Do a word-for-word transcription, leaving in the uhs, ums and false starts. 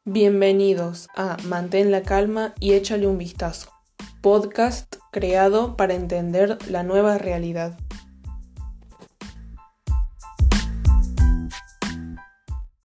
Bienvenidos a Mantén la calma y échale un vistazo, podcast creado para entender la nueva realidad.